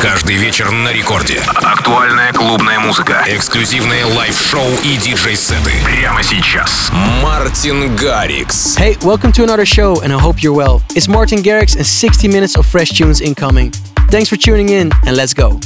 Каждый вечер на рекорде. Актуальная клубная музыка. Эксклюзивные лайв-шоу и диджей-сеты. Прямо сейчас. Мартин Гаррикс. Hey, welcome to another show and I hope you're well. It's Martin Garrix and 60 minutes of fresh tunes incoming. Thanks for tuning in and let's go.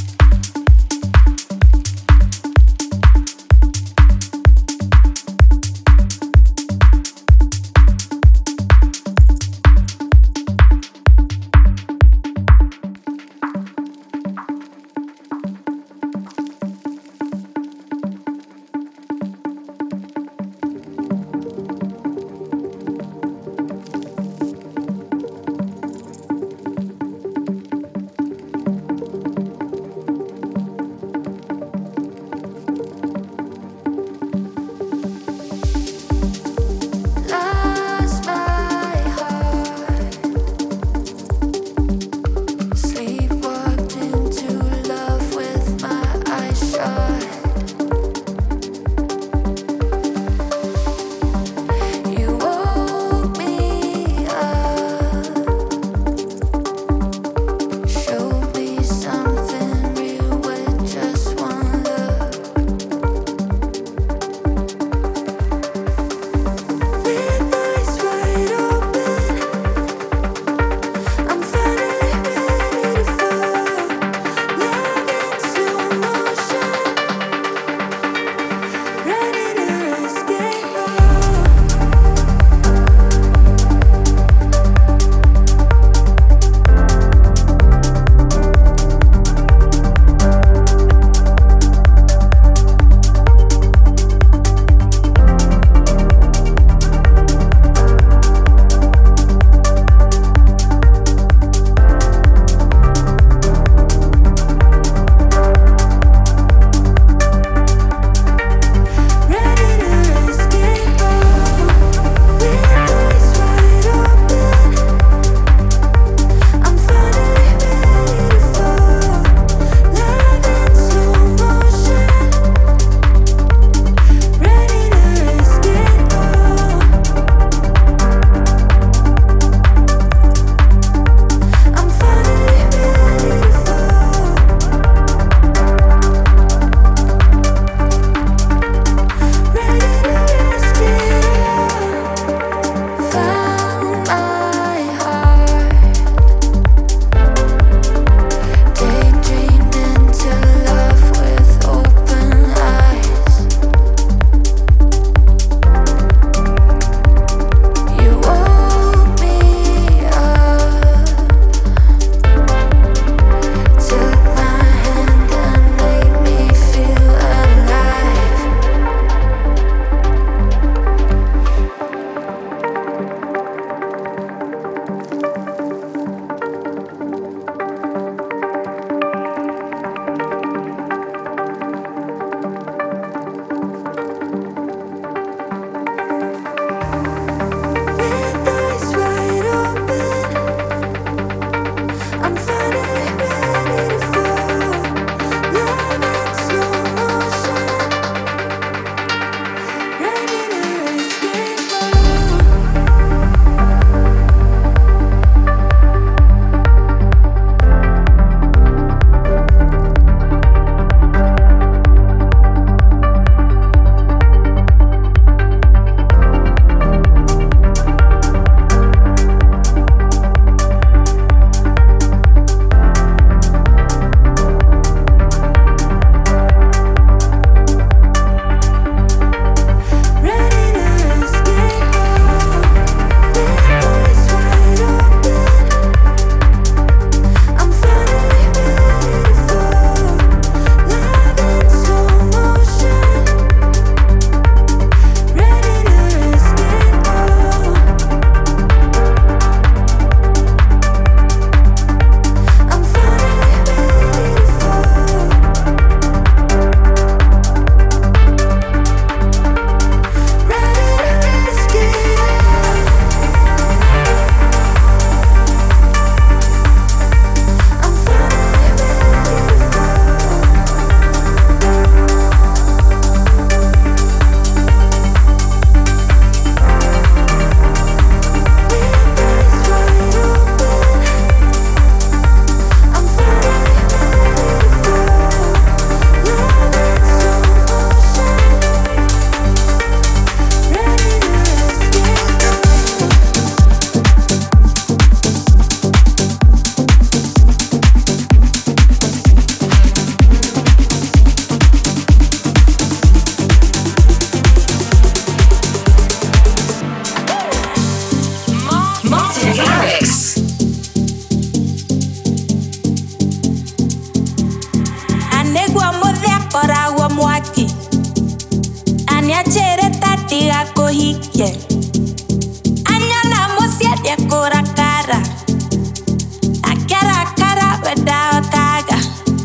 hike. Anyana musiete kura kara. Akara kara without taga.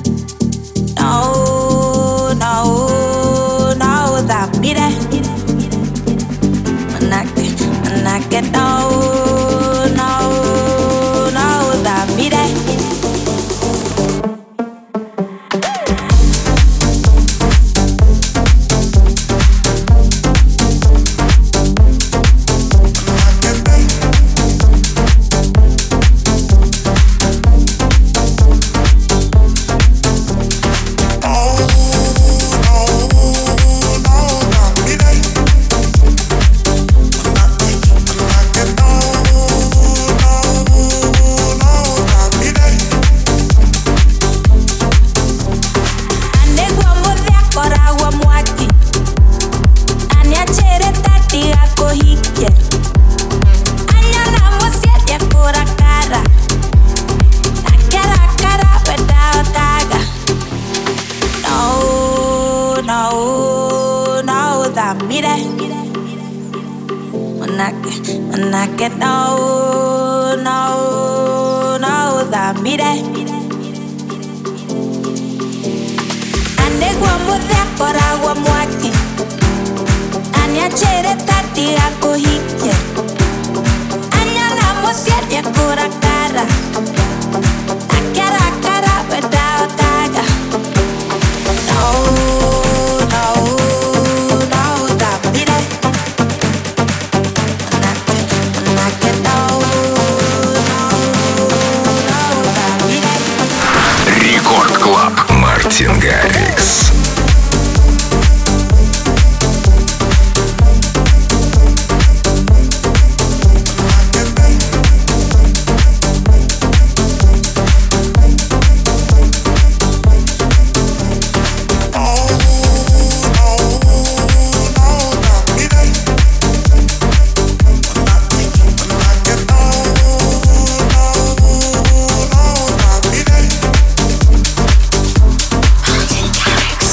No, no, no, that beat it. Manake, no, no, no, that beat it. Manake, no, no, no, that mire. Ane guamude akora guamuaki. Anya chere tati akohike. Anya namo siete akora kara. Akara kara without taga. No, no, no, that mire. Рекорд Клаб. Мартин Гаррикс. Garrix.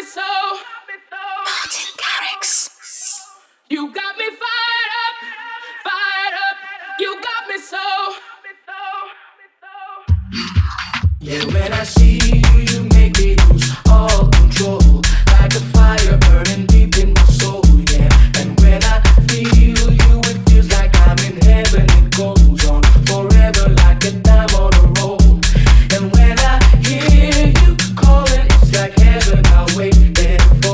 me so. Martin Garrix. You got me fired up, fired up. You got me so. Yeah, when I see you, you make me lose all control. Like a fire burning deep in my soul, yeah. And when I feel you, it feels like I'm in heaven. It goes on forever like a time on a roll. And when I hear you calling, it's like heaven. I'll wait there for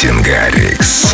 Мартин Гаррикс.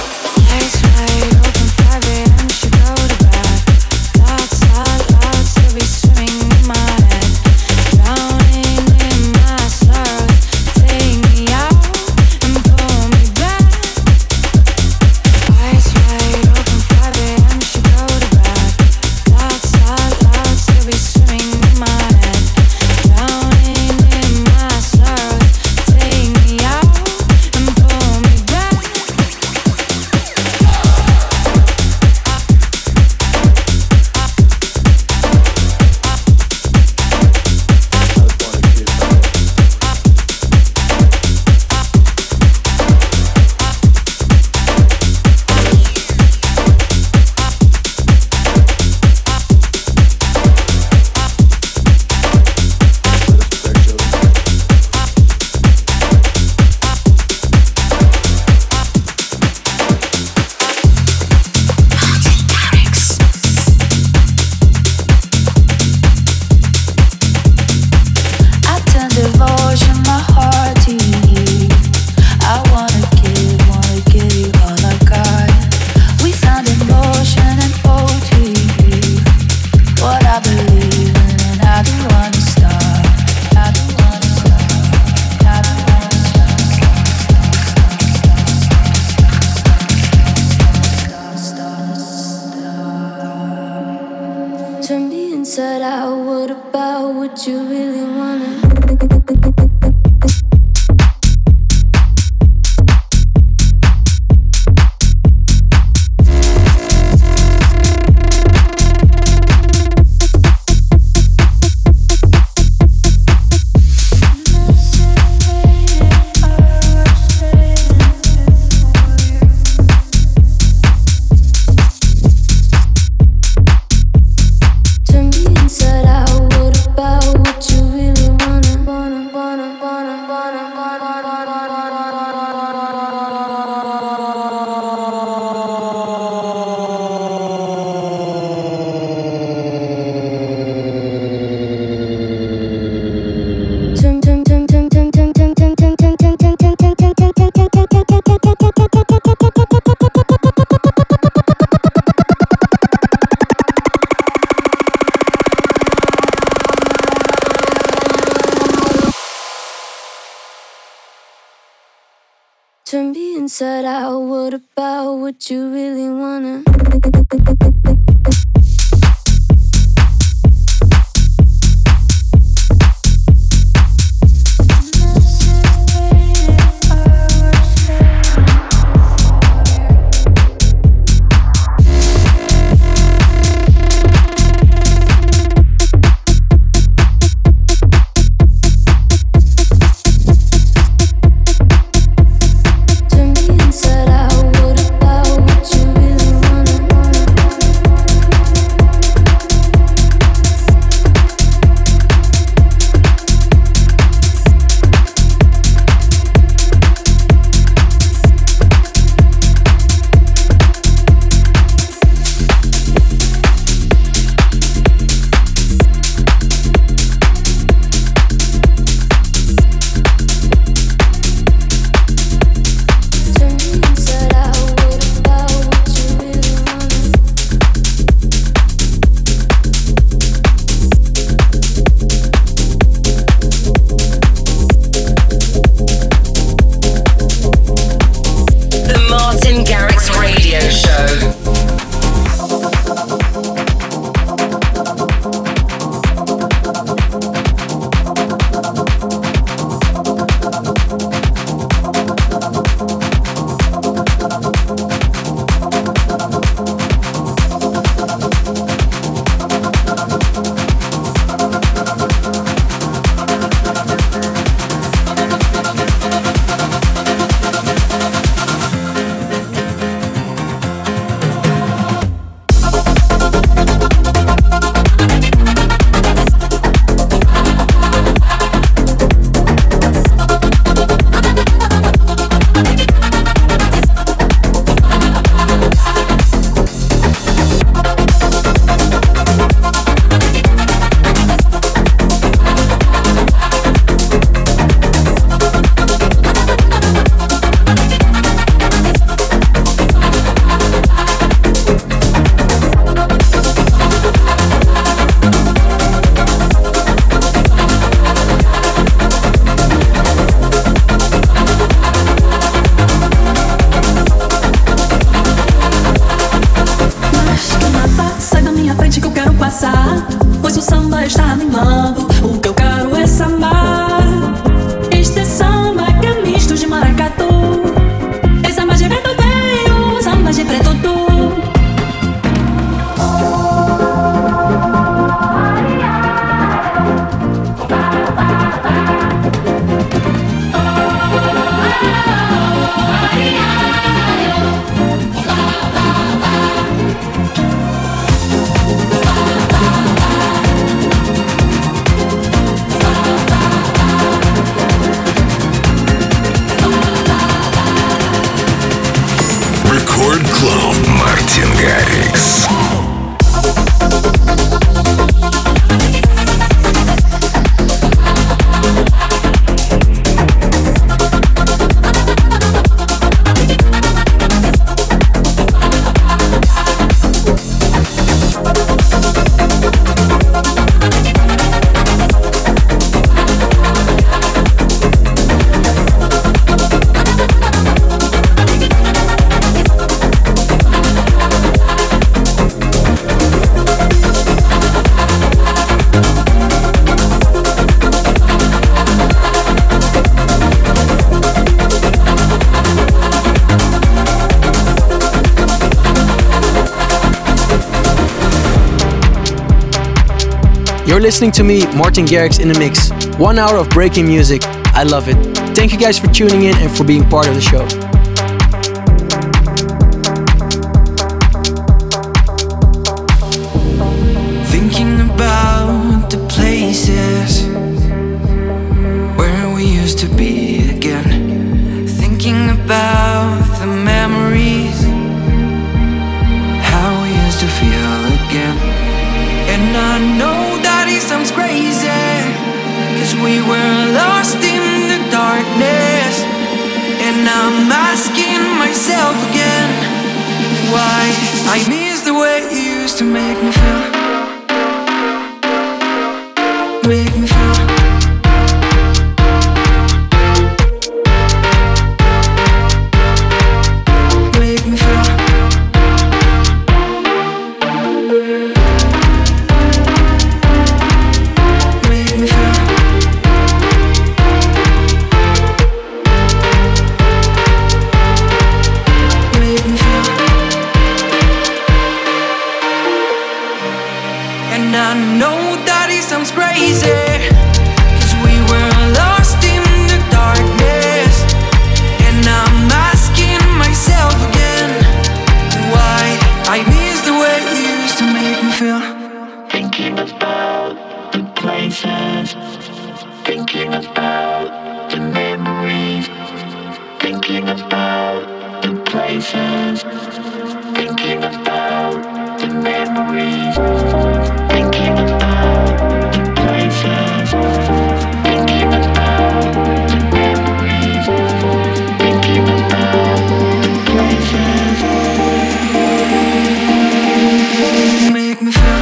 Turn me inside out. What about what you really wanna? Inside out, what about what you really wanna? Garrix. You're listening to me, Martin Garrix, in the mix. 1 hour of breaking music. I love it. Thank you guys for tuning in and for being part of the show. Thinking about the places where we used to be again. Thinking about the memories, how we used to feel again. And I know that it sounds crazy, 'cause we were lost in the darkness. And I'm asking myself again, why I miss the way you used to make me feel. Make me feel. Make me feel. Make me feel. Make me feel. And I know that it sounds crazy, 'cause we were lost in the darkness. And I'm asking myself again, why I miss the way you used to make me feel. Thinking about the places, thinking about the memories, thinking about the places, thinking about the memories, thinking about the places, thinking about the memories, thinking about the places. Make me feel.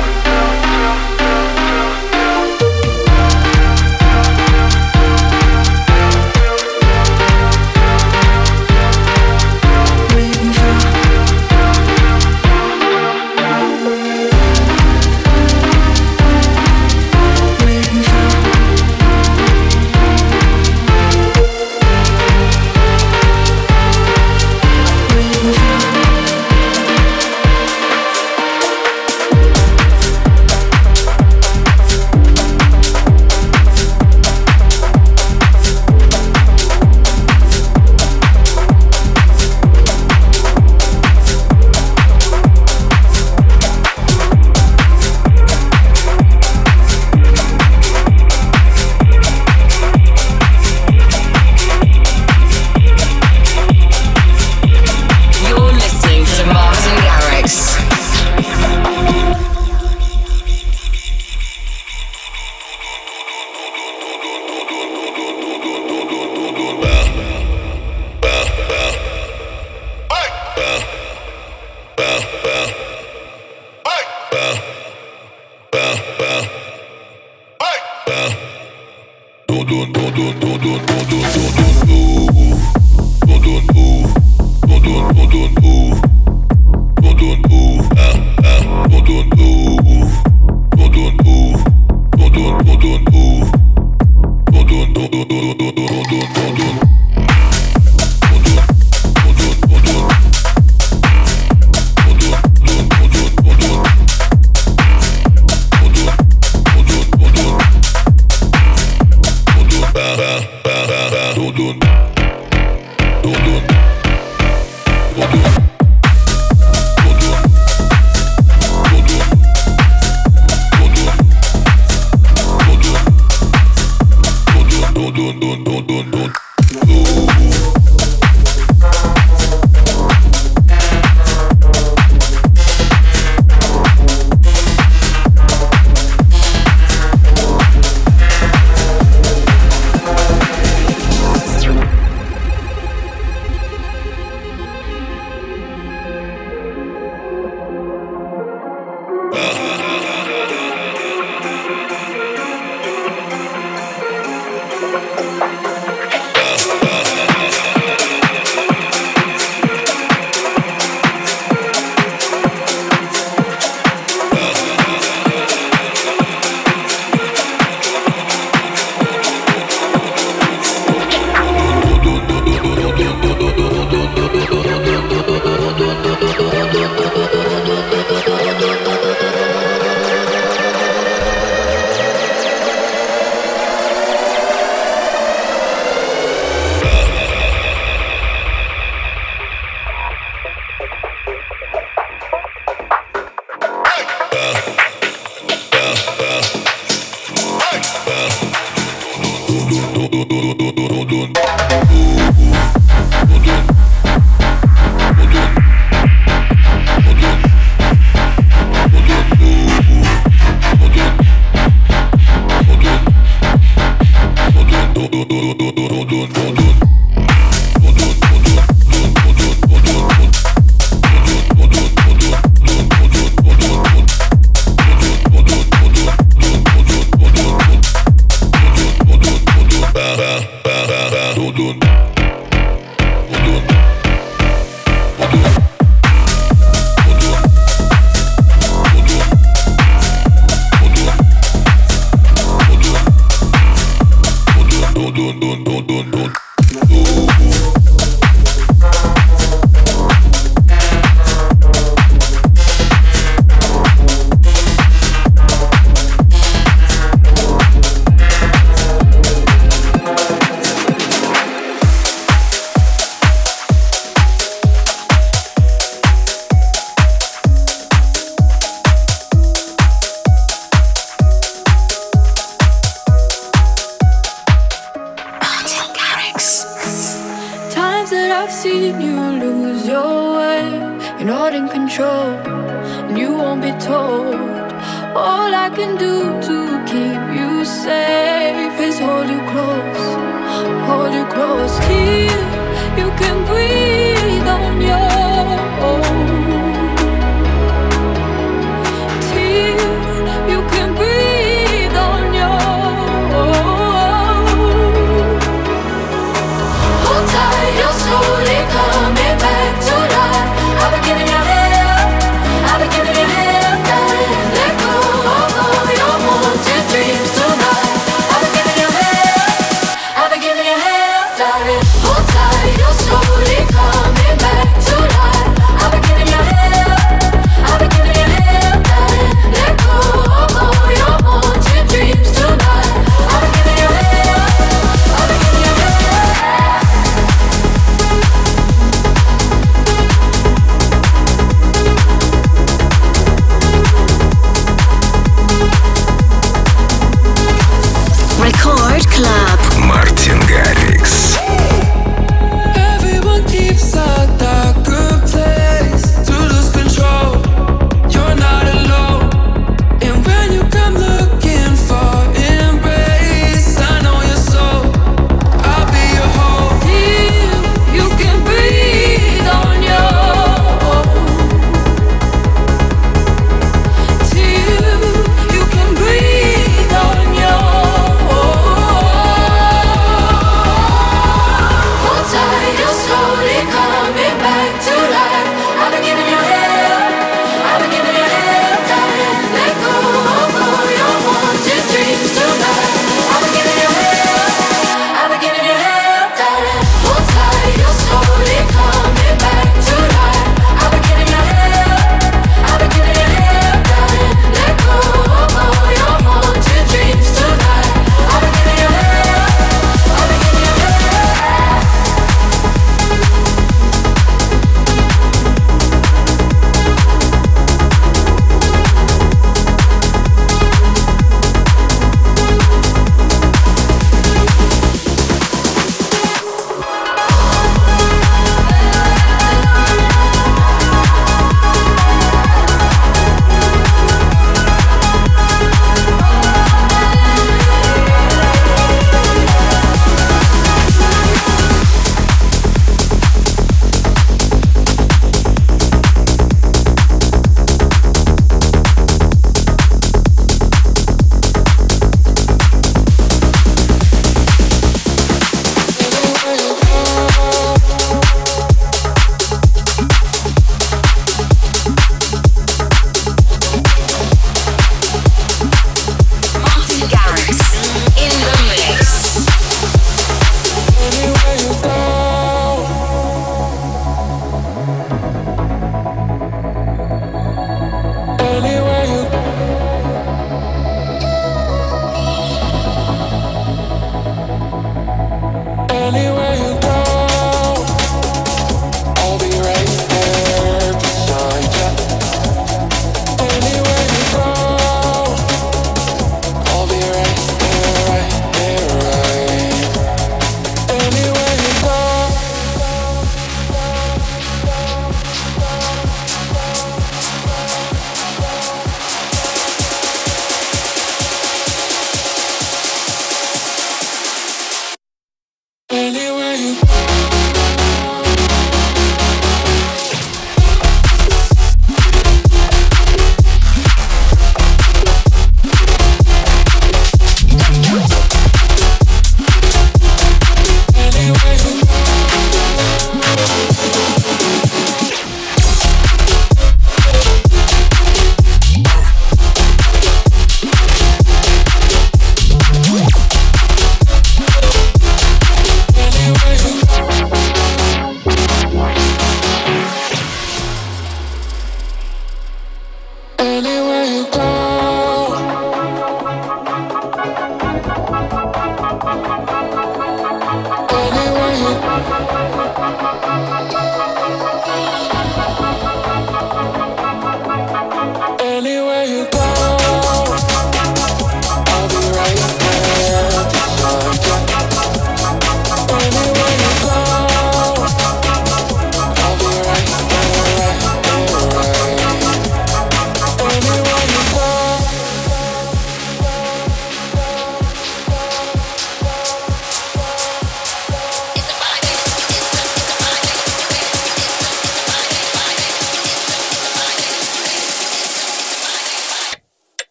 Make me feel. Make me feel. Make me feel. You're listening to Martin Garrix.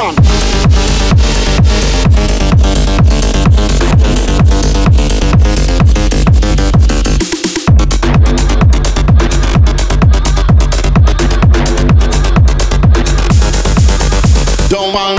Champion. Don't mind.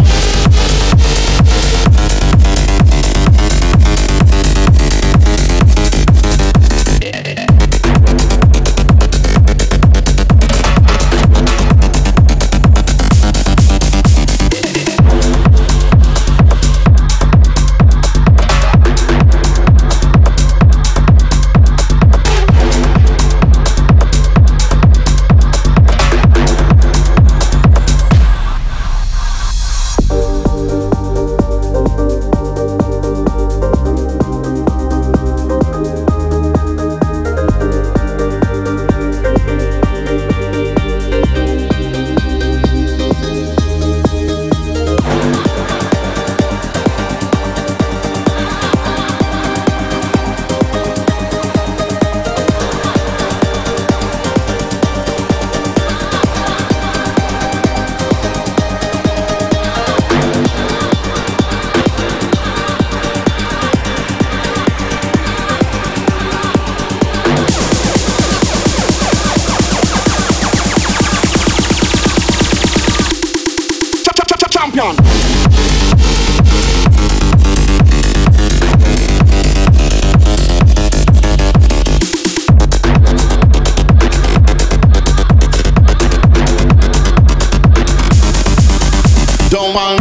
Champion. Don't mind.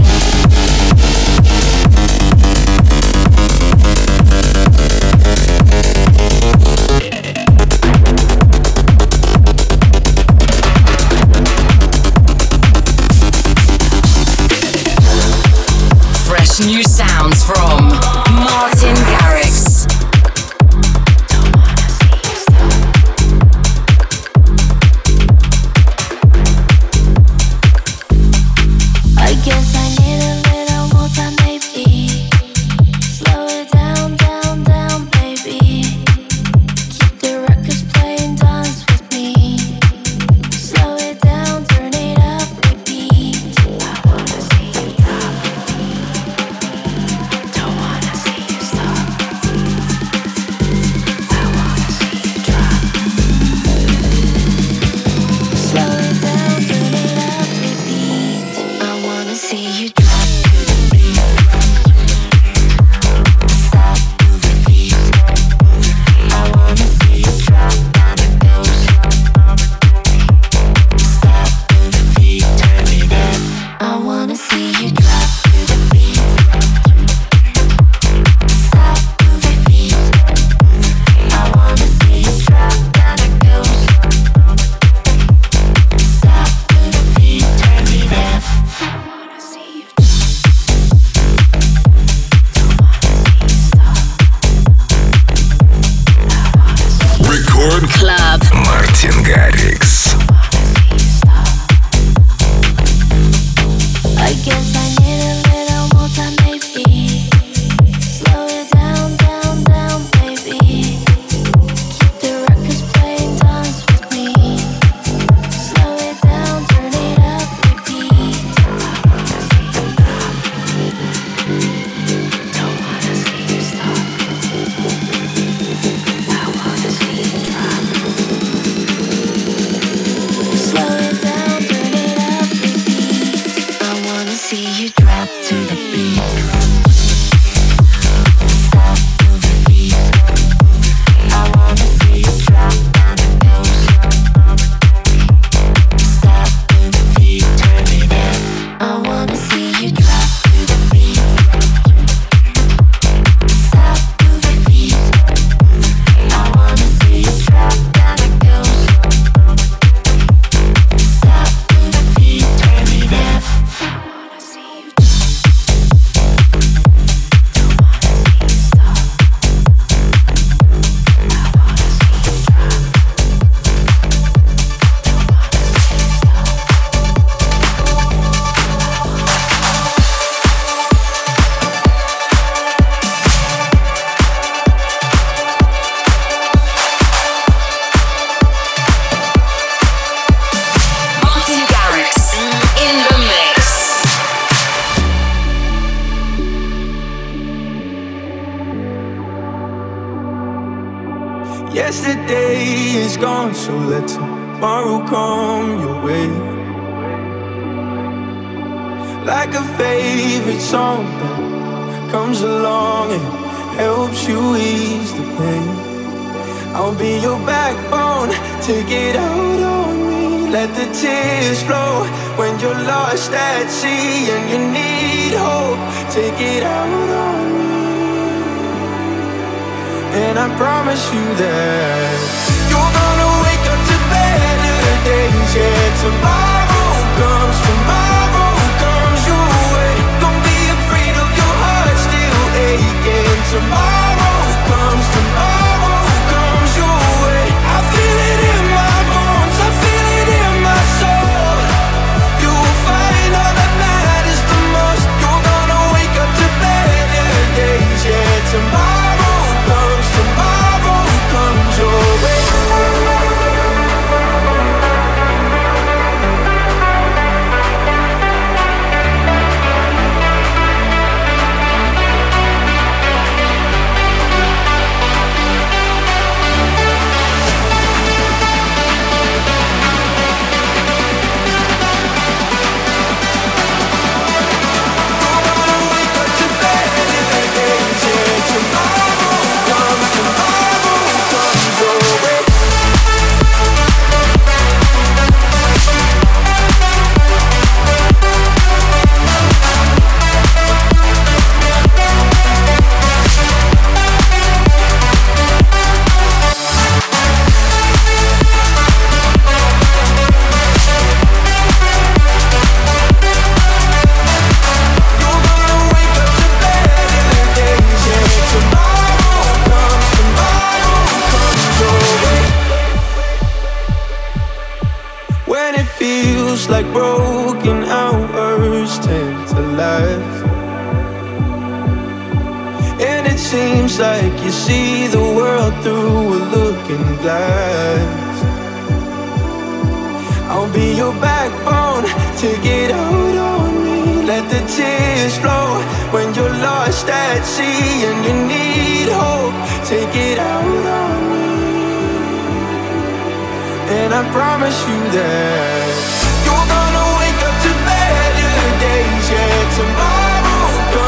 New sounds from Martin Garrix. I guess I need a little more time, maybe. Slow it down, down, down, baby. Keep the records playing, dance with me. Slow it down, turn it up, repeat. I wanna see you drop. Don't wanna see you stop. I wanna see you drop. Slow it down, turn it up, repeat. I wanna see you drop to the beat. Stop, move your feet. I wanna see you drop down it goes. Stop, move your feet, turn it up. I wanna see you drop to the beat. Stop, move your feet. I wanna see you drop down it goes. Stop, move your feet, turn it up. I wanna see you. Don't wanna see you stop. I wanna see you. Record Club. Мартин Гаррикс. I guess I need a little more time, maybe. Slow it down, down, down, baby. Keep the records playing, dance with me. Slow it down, turn it up, repeat. I wanna see you drop. Don't wanna see you stop. I wanna see you drop. Yesterday is gone, so let tomorrow come your way. Like a favorite song that comes along and helps you ease the pain. I'll be your backbone, take it out on me. Let the tears flow when you're lost at sea and you need hope. Take it out on me. And I promise you that you're gonna wake up to better days. Yeah, tomorrow comes your way. Don't be afraid of your heart still aching. Tomorrow comes your way. I feel it in my bones, I feel it in my soul. You will find all that matters the most. You're gonna wake up to better days. Yeah, tomorrow comes your way. Like broken hours tend to last, and it seems like you see the world through a looking glass. I'll be your backbone, take it out on me. Let the tears flow when you're lost at sea and you need hope. Take it out on me. And I promise you that you're gonna wake up to better days. Yeah, tomorrow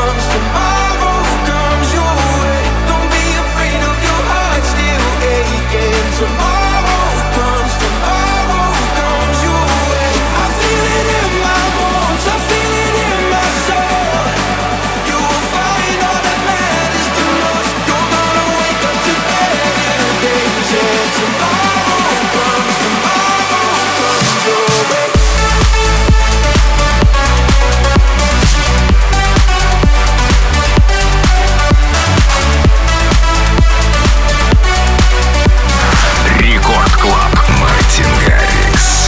comes your way. Don't be afraid of your heart still aching. Tomorrow comes your way. I feel it in my bones, I feel it in my soul. You will find all that matters the most. You're gonna wake up to better days. Yeah, tomorrow comes your way. Рекорд Клаб. Мартин Гаррикс.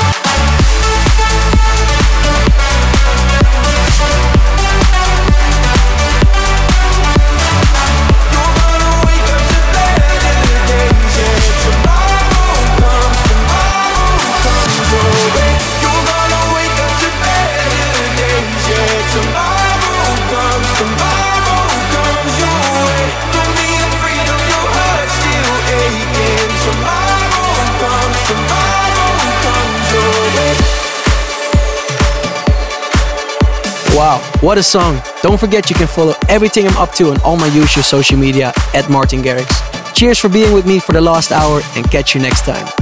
Wow, what a song. Don't forget you can follow everything I'm up to on all my usual social media at Martin Garrix. Cheers for being with me for the last hour and catch you next time.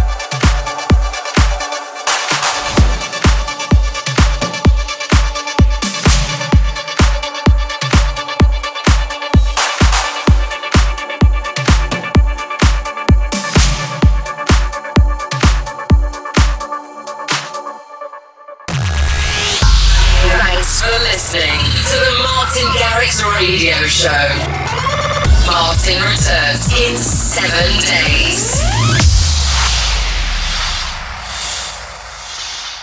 Thanks for listening to the Martin Garrix Radio Show. Martin returns in 7 days.